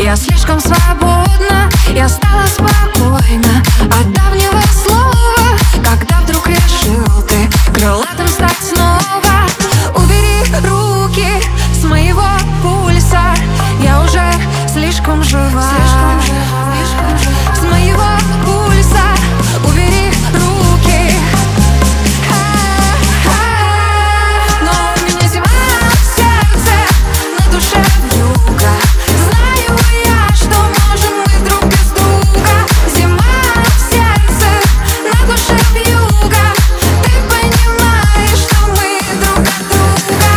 Я слишком свободна, я стала спокойна от давнего слова, когда вдруг решил ты крылатым стать снова. Убери руки с моего пульса, я уже слишком жива. С моего пульса убери руки. Но у меня зима в сердце, на душе вьюга. Знаю я, что можем мы друг без друга. Зима в сердце, на душе вьюга. Ты понимаешь, что мы друг от друга.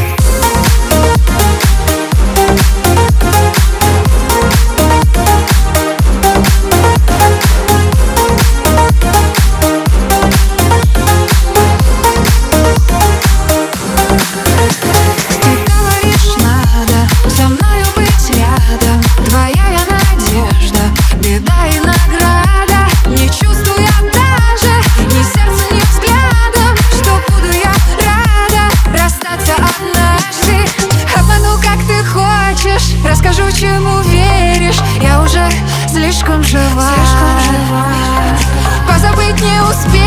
Ты говоришь, надо со мною быть рядом. Твоя я надежда, беда и награда. Не чувствую я даже ни сердцем, ни взглядом, что буду я рада расстаться однажды. Обману, как ты хочешь, расскажу, чему веришь. Я уже слишком жива. Позабыть не успею.